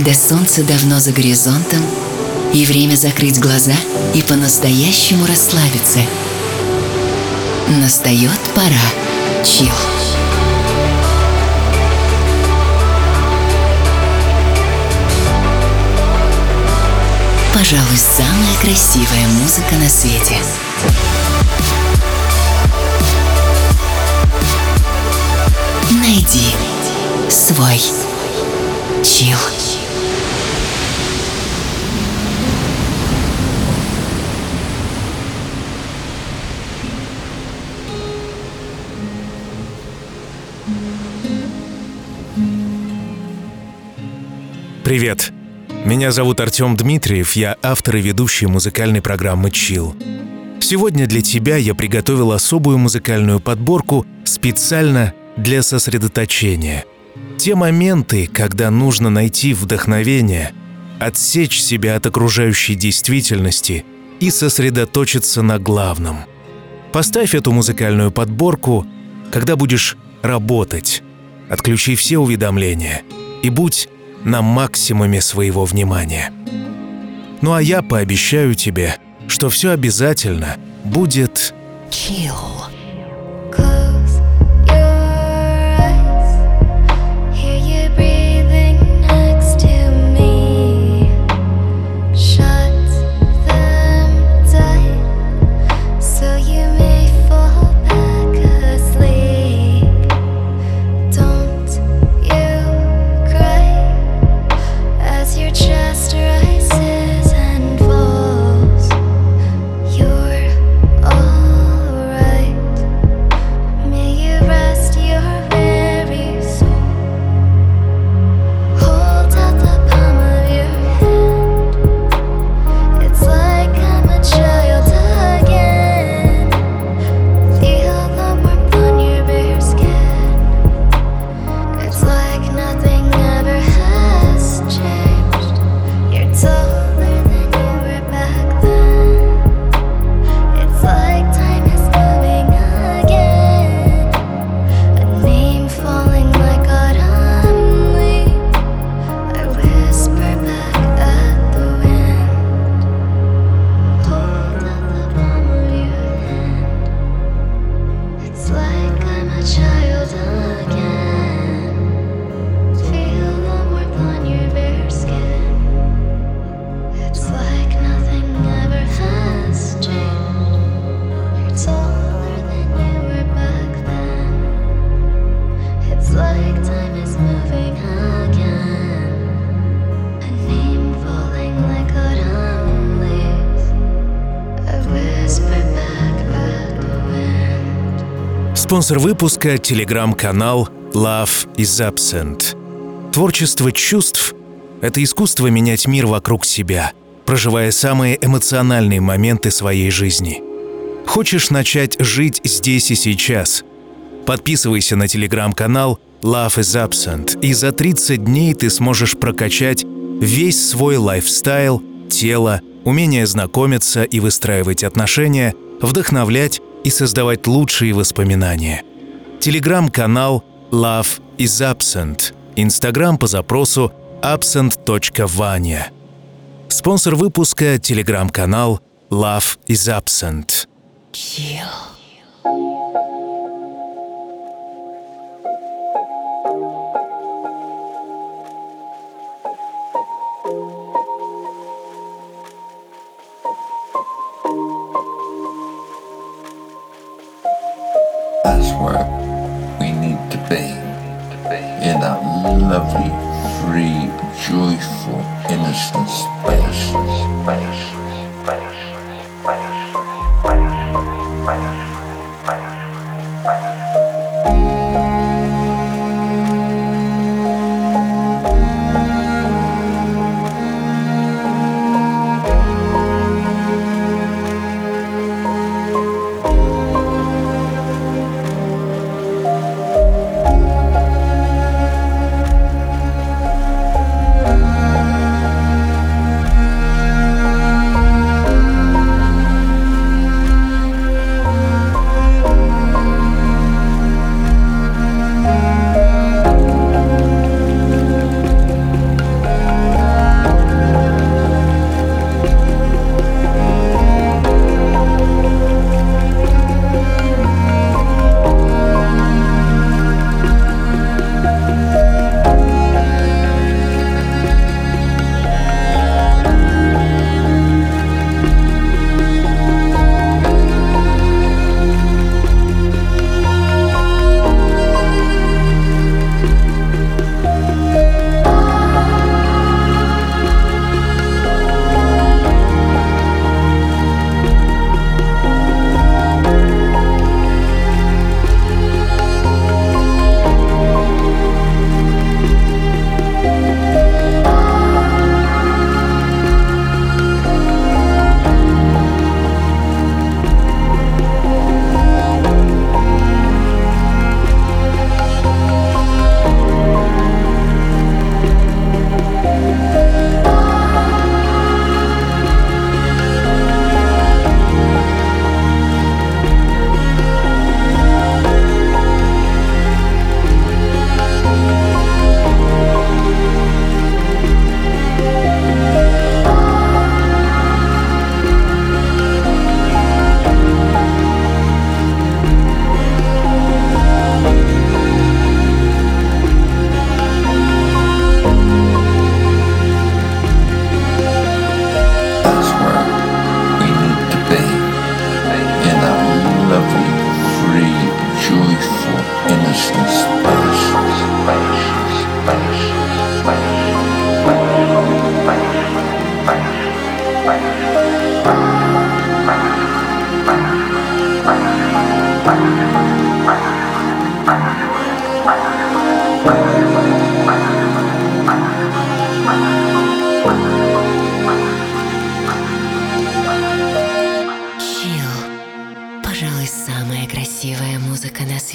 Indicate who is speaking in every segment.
Speaker 1: когда солнце давно за горизонтом, и время закрыть глаза и по-настоящему расслабиться. Настает пора чилл. Пожалуй, самая красивая музыка на свете. Найди свой чилл.
Speaker 2: Привет! Меня зовут Артем Дмитриев, я автор и ведущий музыкальной программы «Чилл». Сегодня для тебя я приготовил особую музыкальную подборку специально для сосредоточения. Те моменты, когда нужно найти вдохновение, отсечь себя от окружающей действительности и сосредоточиться на главном. Поставь эту музыкальную подборку, когда будешь работать. Отключи все уведомления и будь на максимуме своего внимания. Ну а я пообещаю тебе, что все обязательно будет
Speaker 1: Chill.
Speaker 2: Спонсор выпуска — телеграм-канал Love is Absent. Творчество чувств — это искусство менять мир вокруг себя, проживая самые эмоциональные моменты своей жизни. Хочешь начать жить здесь и сейчас? Подписывайся на телеграм-канал Love is Absent, и за 30 дней ты сможешь прокачать весь свой лайфстайл, тело, умение знакомиться и выстраивать отношения, вдохновлять и создавать лучшие воспоминания. Телеграм-канал Love is Absent. Инстаграм по запросу absent.vanya. Спонсор выпуска — телеграм-канал Love is Absent.
Speaker 1: Chill.
Speaker 3: That's where we need to be, in that lovely, free, joyful, innocent space.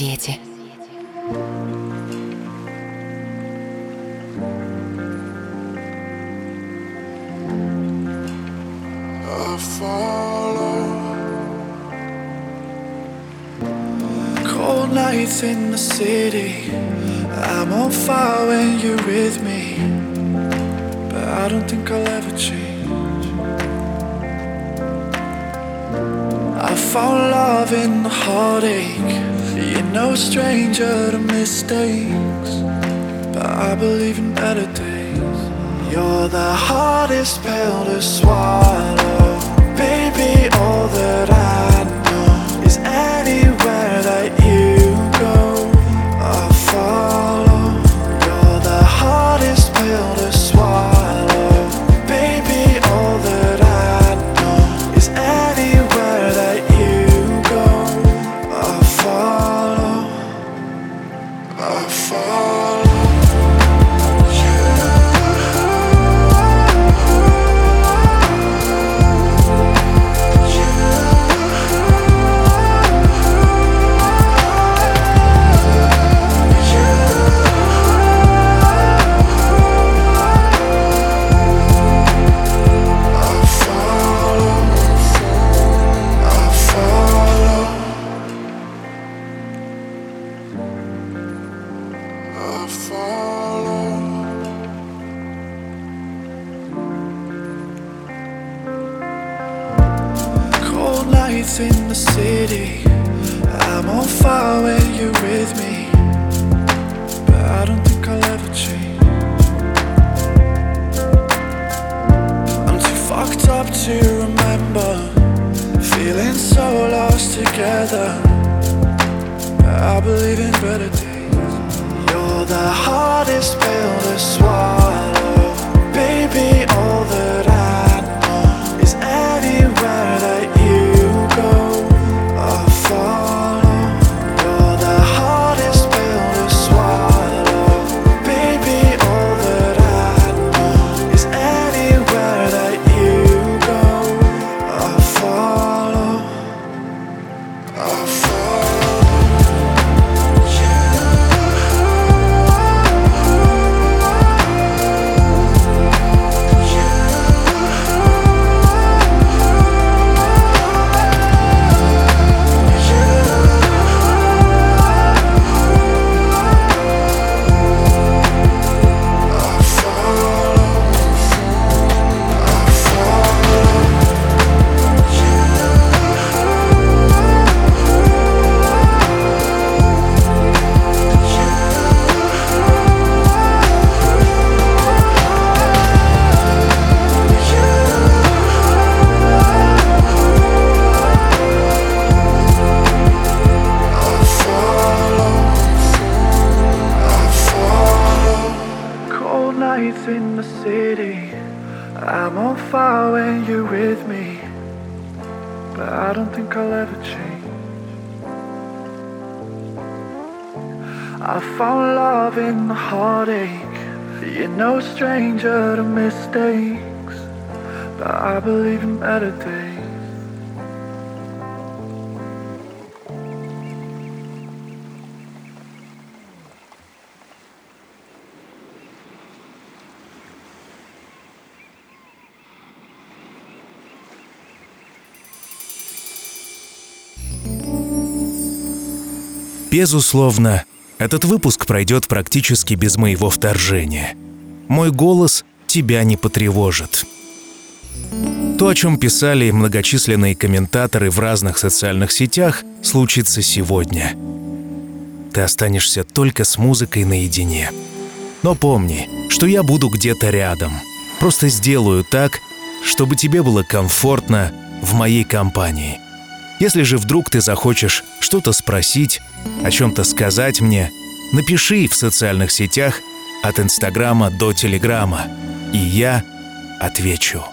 Speaker 1: рассвете.
Speaker 4: Cold nights in the city, I'm on fire when you're with me, but I don't think I'll ever change. I found love in the heartache, you're no stranger to mistakes, but I believe in better days. You're the hardest pill to swallow, baby, all that I know is anywhere that you go, I'll follow. You're the hardest pill to swallow, baby, all that I know is anywhere that you go, I'll follow, I'll follow. Nights in the city, I'm on fire when you're with me, but I don't think I'll ever change. I'm too fucked up to remember, feeling so lost together, but I believe in better days. You're the hardest pill to swallow, baby, all that I know is anywhere that you go, I'll follow. You're the hardest pill to swallow, baby, all that I know is anywhere that you go, I'll follow, I'll follow. Nights in the city, I'm on fire when you're with me, but I don't think I'll ever change. I found love in the heartache, you're no stranger to mistakes, but I believe in better days.
Speaker 2: Безусловно, этот выпуск пройдет практически без моего вторжения. Мой голос тебя не потревожит. То, о чем писали многочисленные комментаторы в разных социальных сетях, случится сегодня. Ты останешься только с музыкой наедине. Но помни, что я буду где-то рядом. Просто сделаю так, чтобы тебе было комфортно в моей компании. Если же вдруг ты захочешь что-то спросить, о чем-то сказать мне, напиши в социальных сетях от Инстаграма до Телеграма, и я отвечу.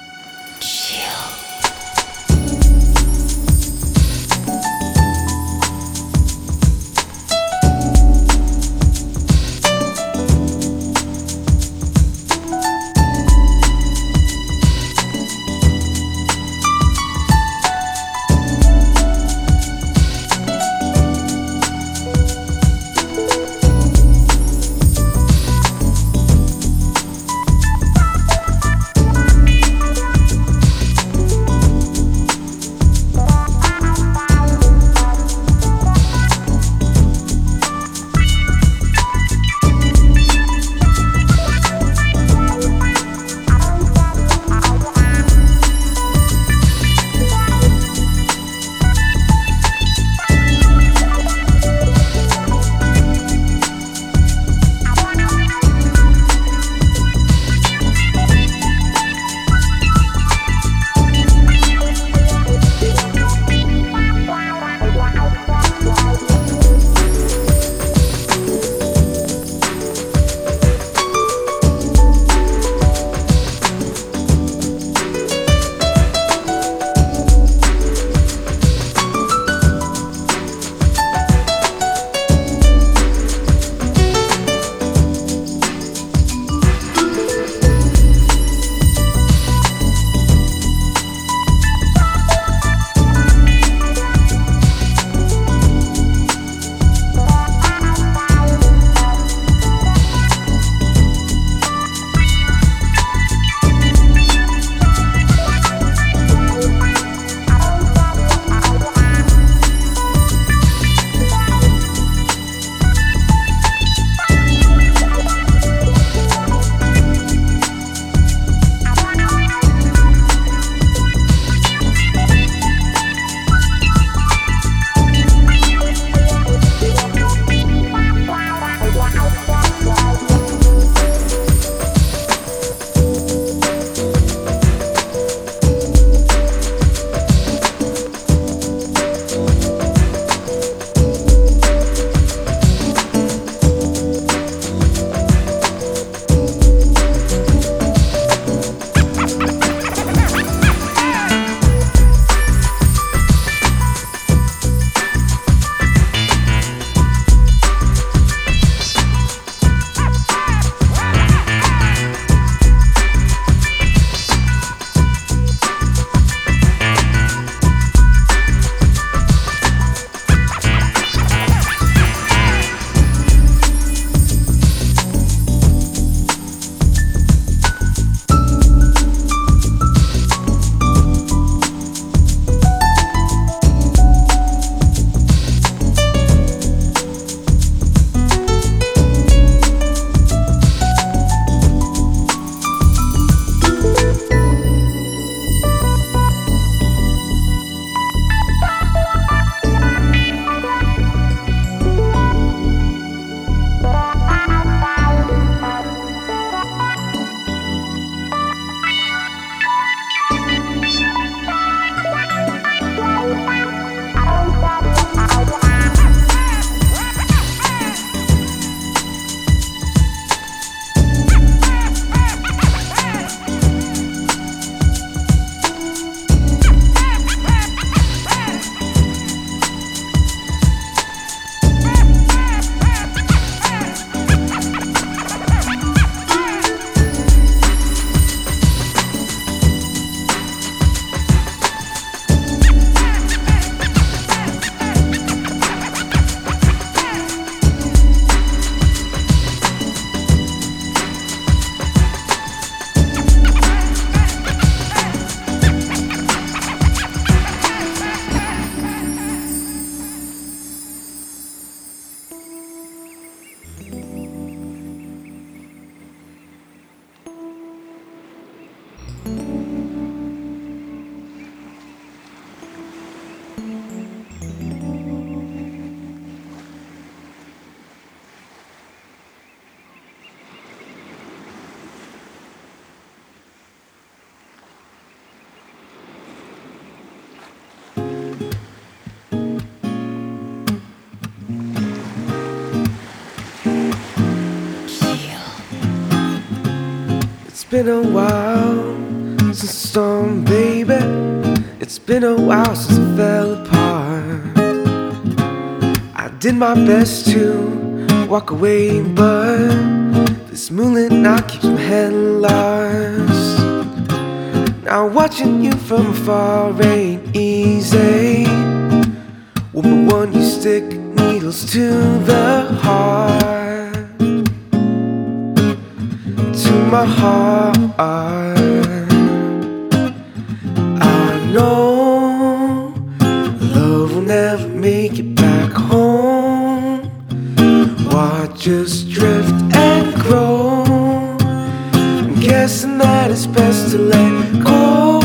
Speaker 5: been a while since the storm, baby. It's been a while since I fell apart. I did my best to walk away, but this moonlit night keeps my head lost. Now watching you from afar ain't easy. Woman, one, you stick needles to the heart, to my heart. I know love will never make it back home. Watch us drift and grow. I'm guessing that it's best to let go,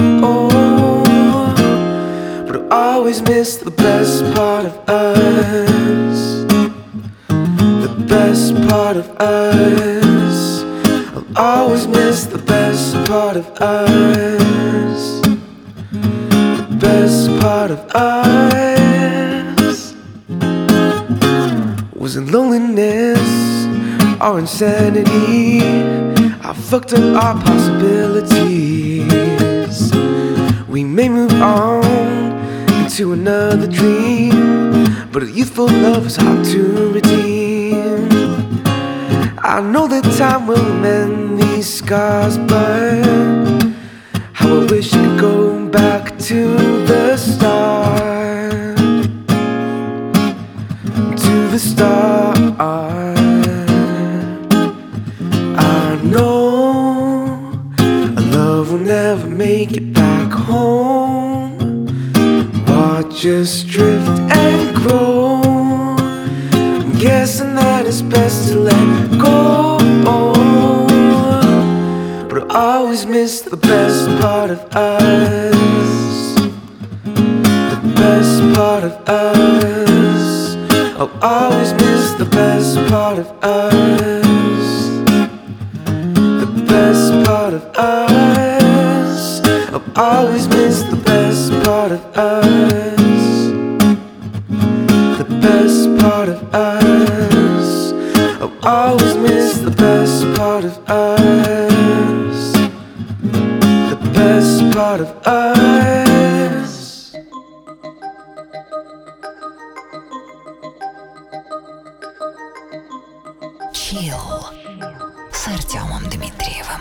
Speaker 5: but I always miss the best part of us. The best part of us. I'll always miss the best part of us. The best part of us. Was it loneliness or insanity? I fucked up our possibilities. We may move on into another dream, but a youthful love is hard to redeem. I know that time will mend these scars, but how I wish I could go back to the start, to the start. I know a love will never make it back home. Watch us drift and grow. I'm guessing that it's best to let go, but I always miss the best part of us. The best part of us. I'll always miss the best part of us. The best part of us. I'll always miss the best part of us. The best part of us. I'll always miss the best part of us. The best part of us.
Speaker 1: Chill с Артемом Дмитриевым.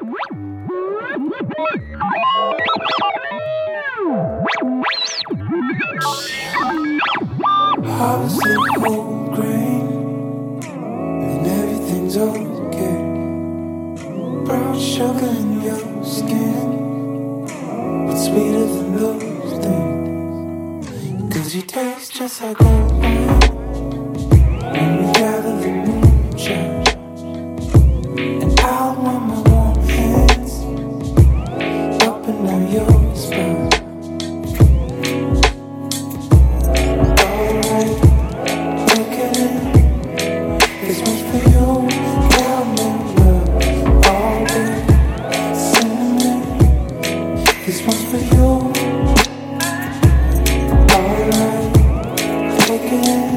Speaker 5: I was in whole grain, and everything's okay. Brown sugar in your skin, but sweeter than those things. 'Cause you taste just like old wine when we gather the moonshine. And I'll run my warm hands up and down your spine. This one's for you, diamond love, all day, cinnamon. This one's for you. Alright, take it in.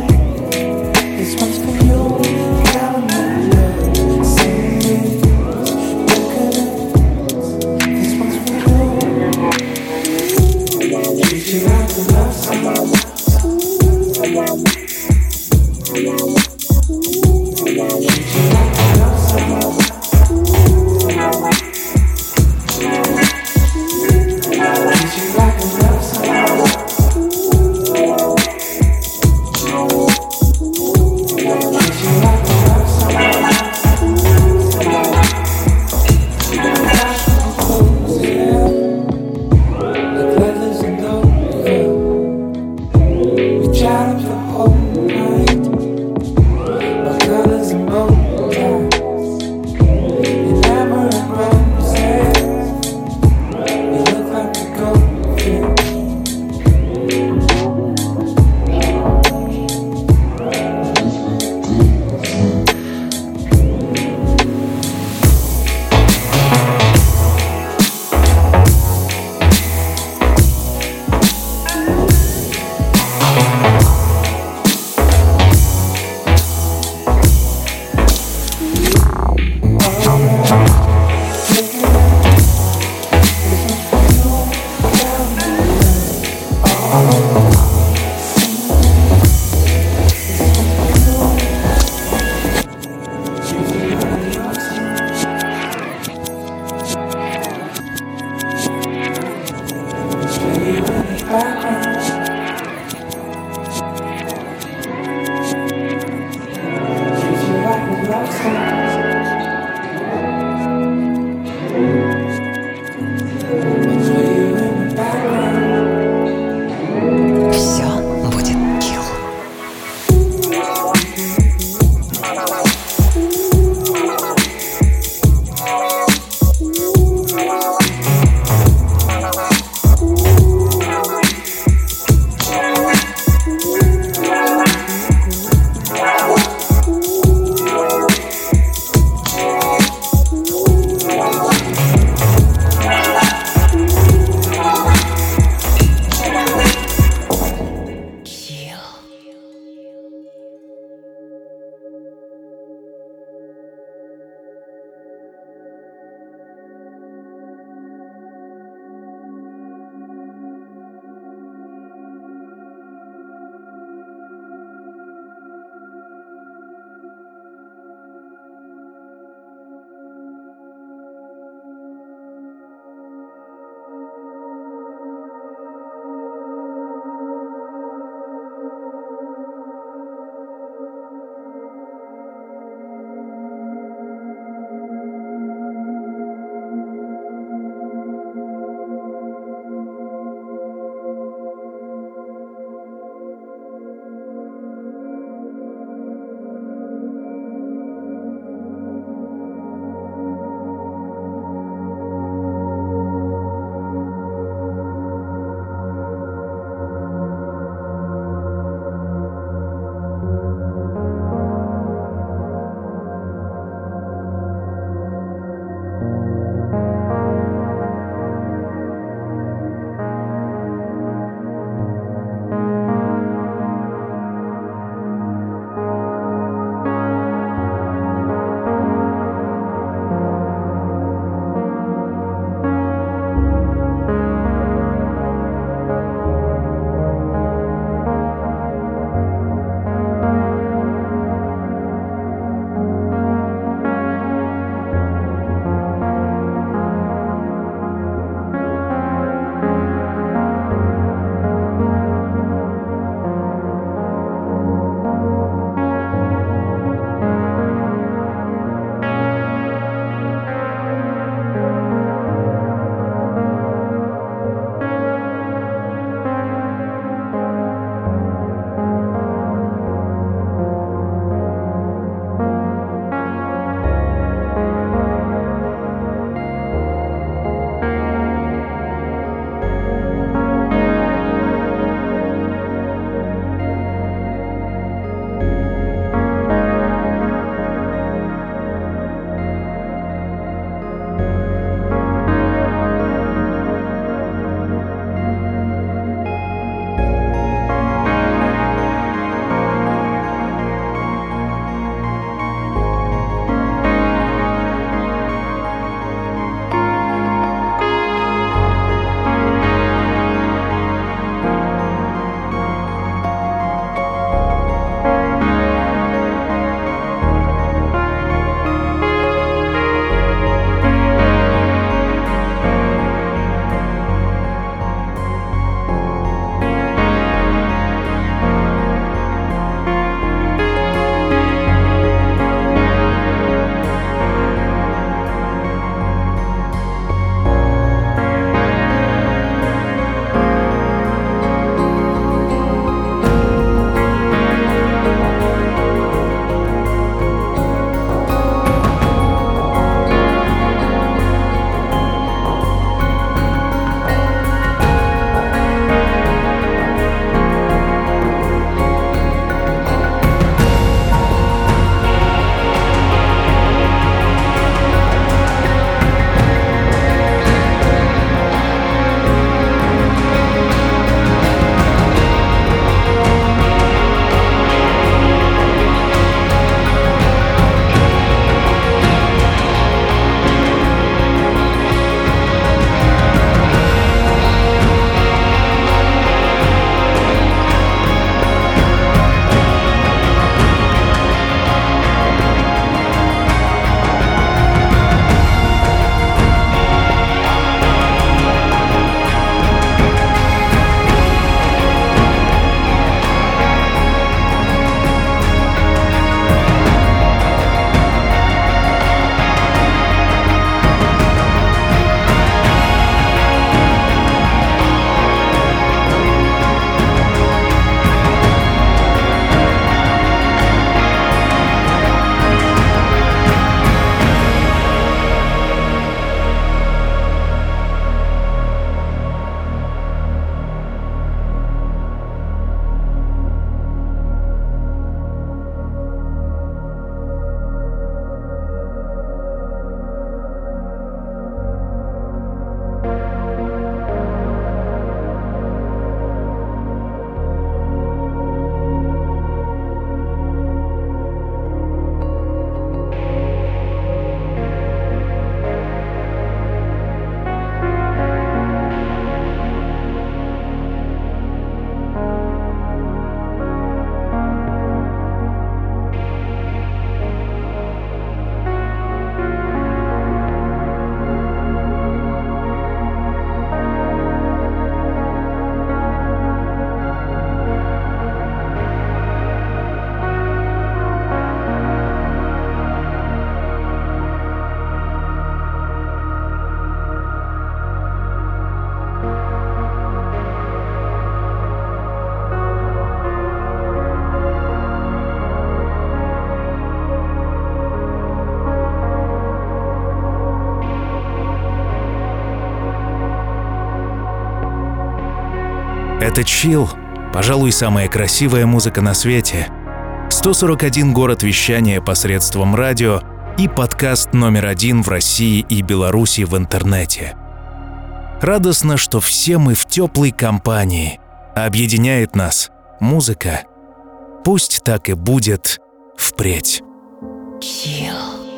Speaker 2: Это Chill, пожалуй, самая красивая музыка на свете. 141 город вещания посредством радио и подкаст номер 1 в России и Беларуси в интернете. Радостно, что все мы в теплой компании. Объединяет нас музыка. Пусть так и будет впредь.
Speaker 1: Chill.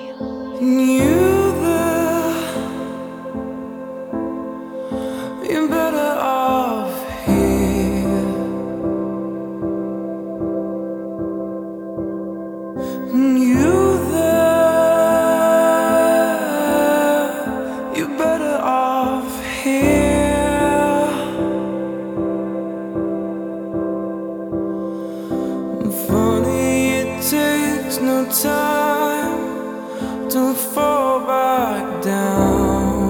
Speaker 5: You're better off here. You there. You're better off here. Funny, it takes no time to fall back down.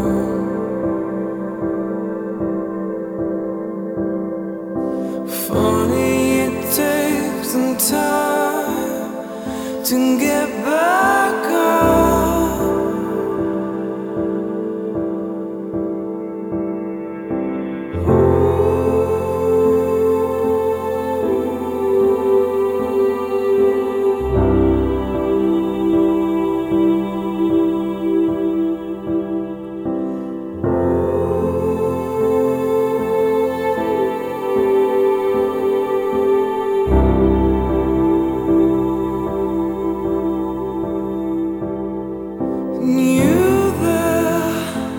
Speaker 5: Funny, it takes some time to get back up. You there,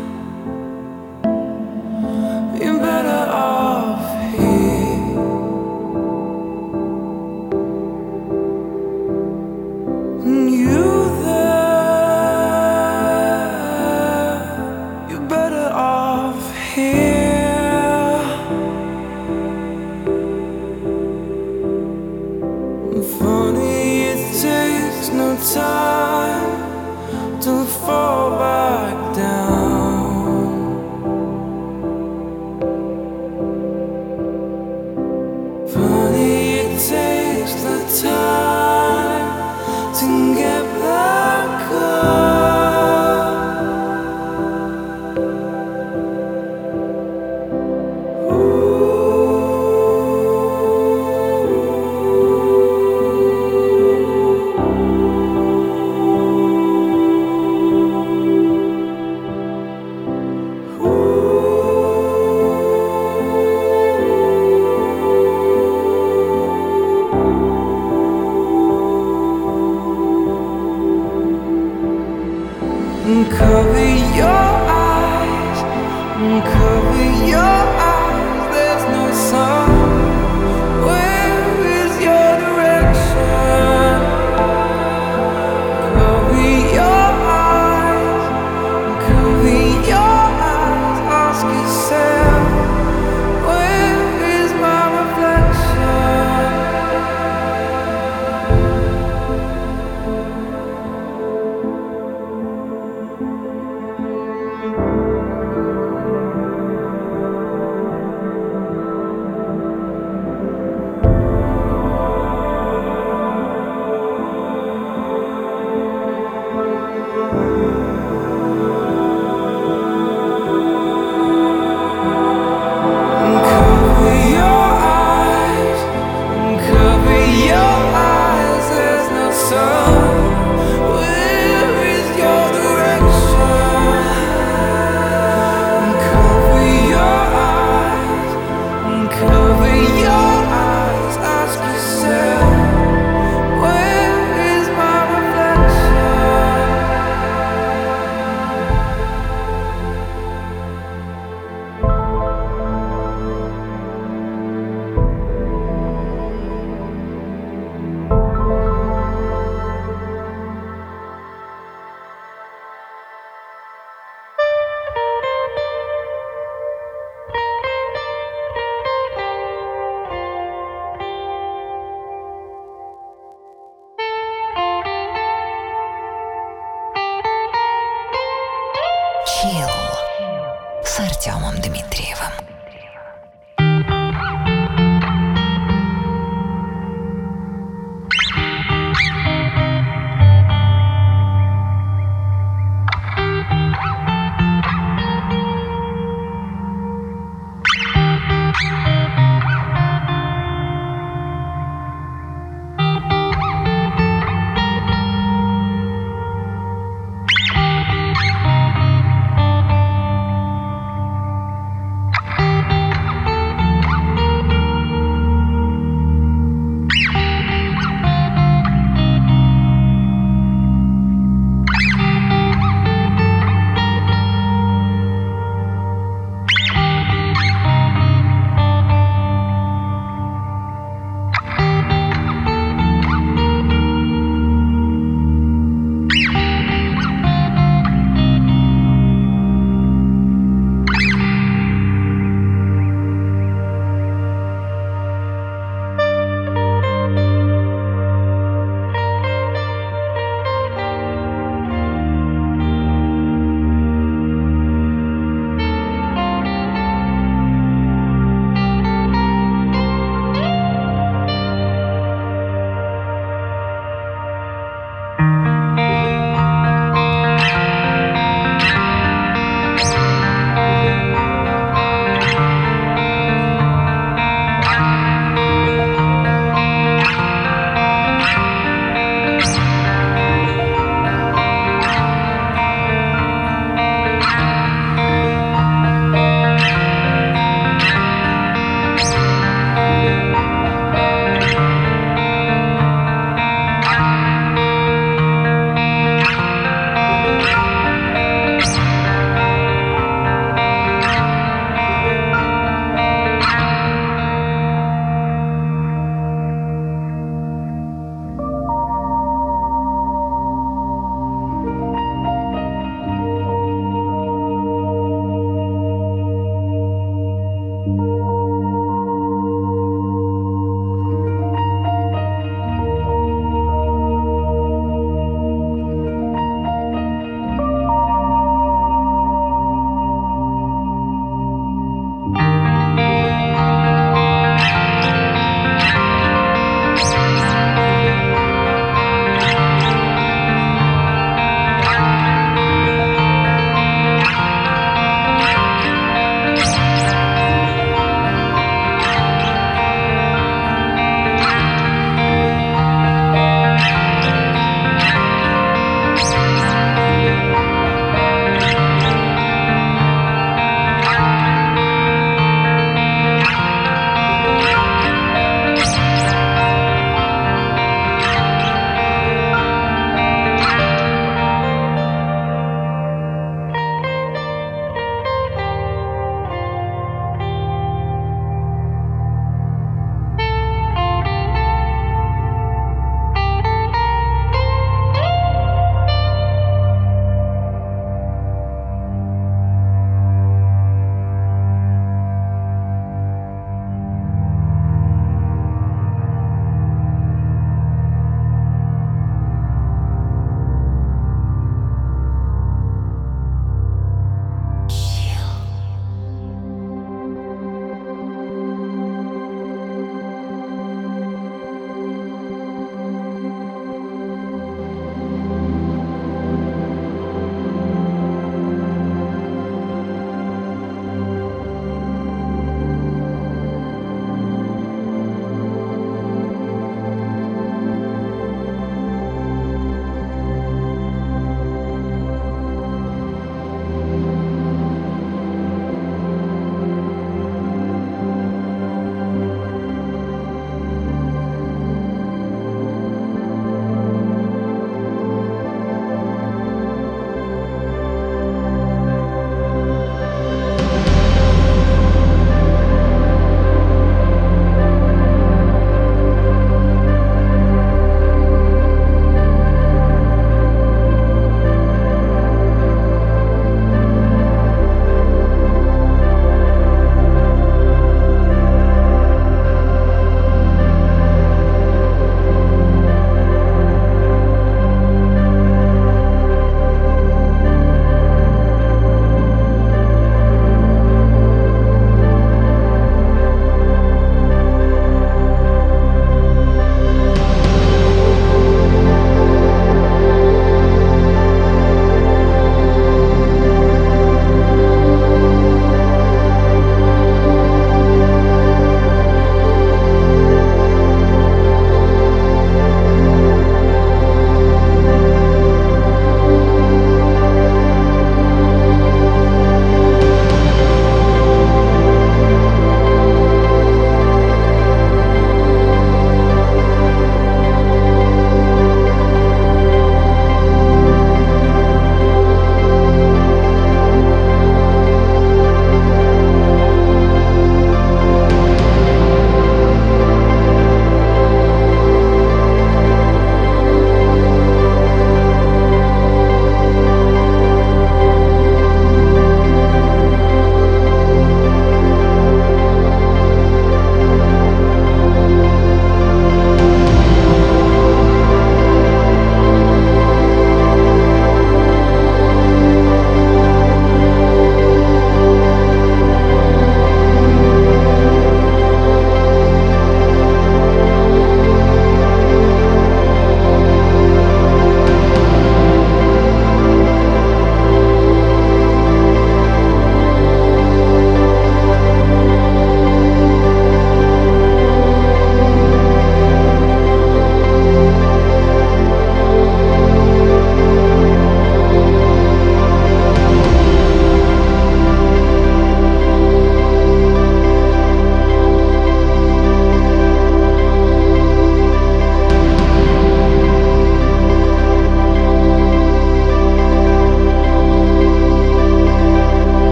Speaker 5: you're better off here. You there, you're better off here. Funny, it takes no time to fall back down. Funny, it takes the time to get back up. Cover your eyes, cover your eyes. There's no sun. Where is your direction? Cover your eyes, cover your eyes. Ask yourself, where is my reflection?
Speaker 1: Chill с Артемом Дмитриевым.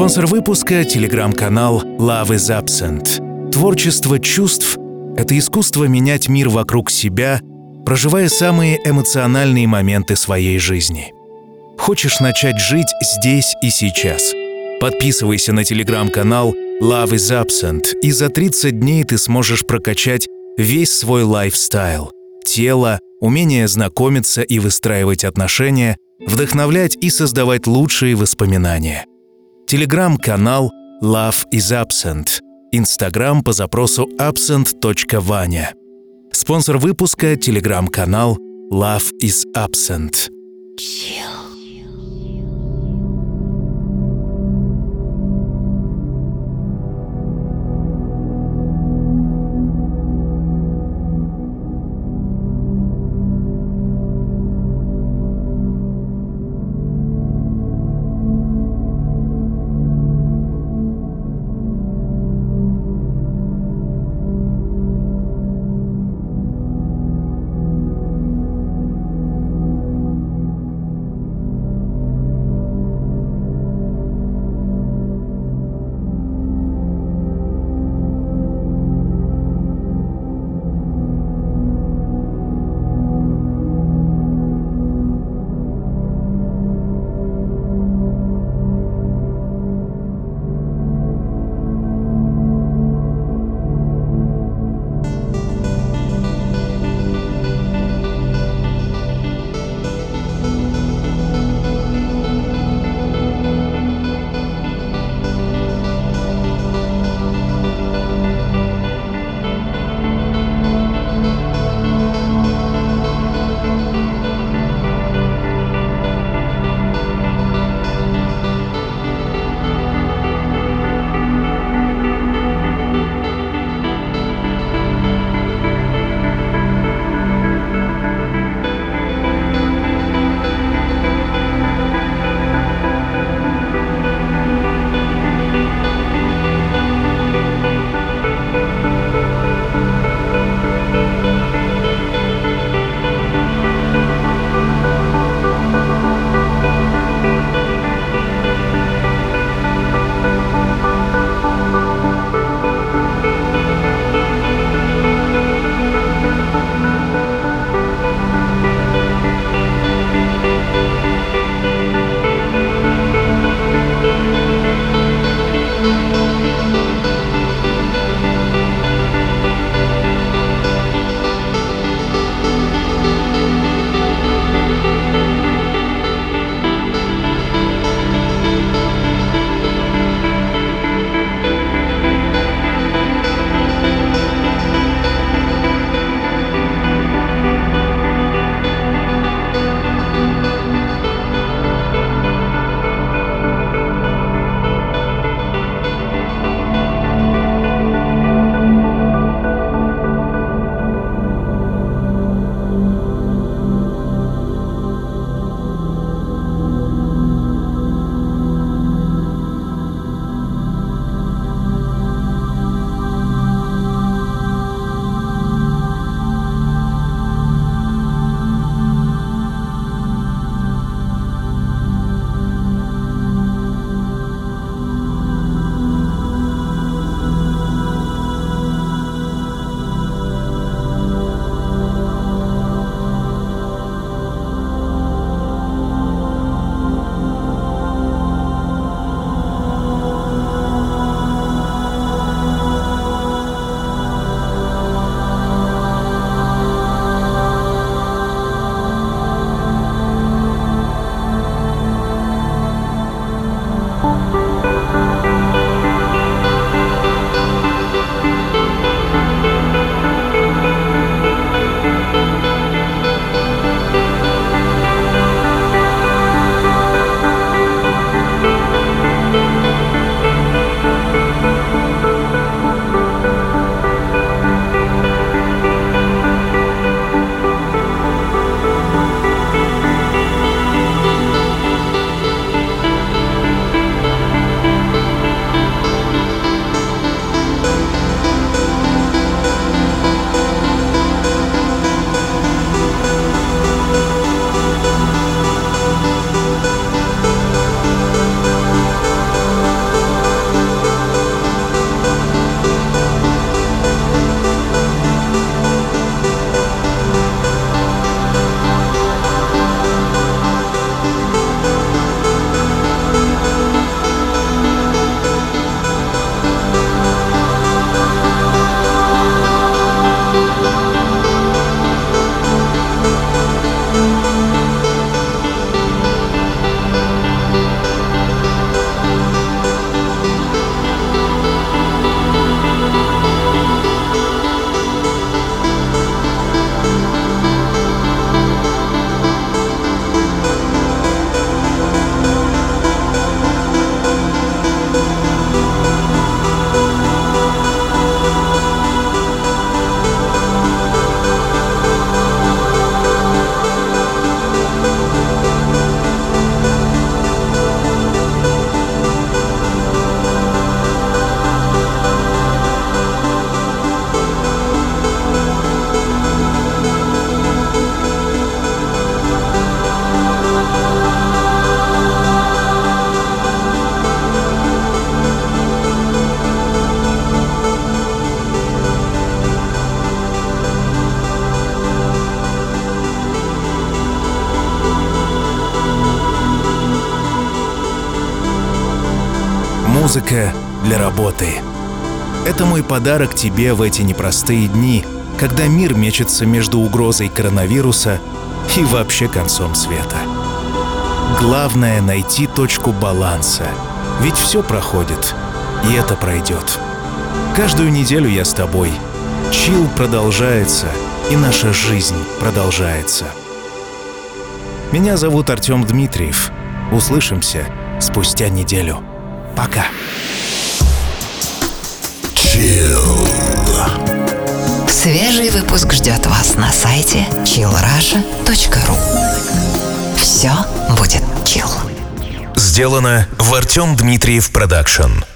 Speaker 2: Спонсор выпуска — телеграм-канал Love is Absent. Творчество чувств — это искусство менять мир вокруг себя, проживая самые эмоциональные моменты своей жизни. Хочешь начать жить здесь и сейчас? Подписывайся на телеграм-канал Love is Absent, и за 30 дней ты сможешь прокачать весь свой лайфстайл: тело, умение знакомиться и выстраивать отношения, вдохновлять и создавать лучшие воспоминания. Телеграм-канал Love is Absent. Инстаграм по запросу absent.vanya. Спонсор выпуска — телеграм-канал Love is Absent. Музыка для работы. Это мой подарок тебе в эти непростые дни, когда мир мечется между угрозой коронавируса и вообще концом света. Главное — найти точку баланса, ведь все проходит, и это пройдет. Каждую неделю я с тобой. Чилл продолжается, и наша жизнь продолжается. Меня зовут Артем Дмитриев. Услышимся спустя неделю. Пока.
Speaker 1: Свежий выпуск ждет вас на сайте chillrusha.ru. Все будет chill.
Speaker 2: Сделано в Артем Дмитриев Продакшн.